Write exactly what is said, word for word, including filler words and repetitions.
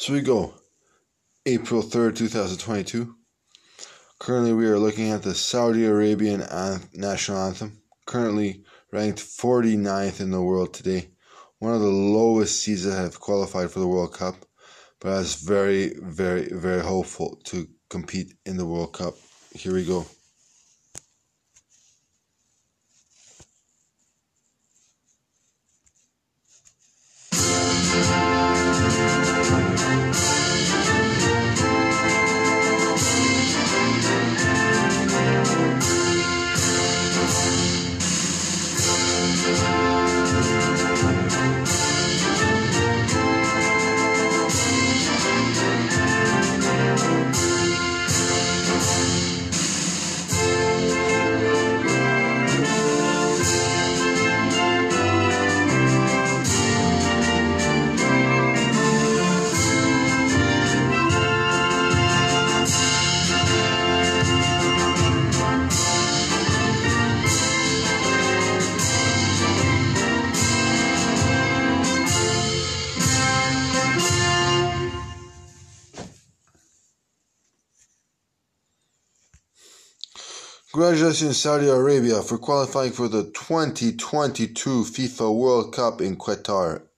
So we go. April third, two thousand twenty-two. Currently, we are looking at the Saudi Arabian national anthem, currently ranked forty-ninth in the world today. One of the lowest seeds that have qualified for the World Cup, but is very, very, very hopeful to compete in the World Cup. Here we go. Congratulations, Saudi Arabia, for qualifying for the twenty twenty-two FIFA World Cup in Qatar.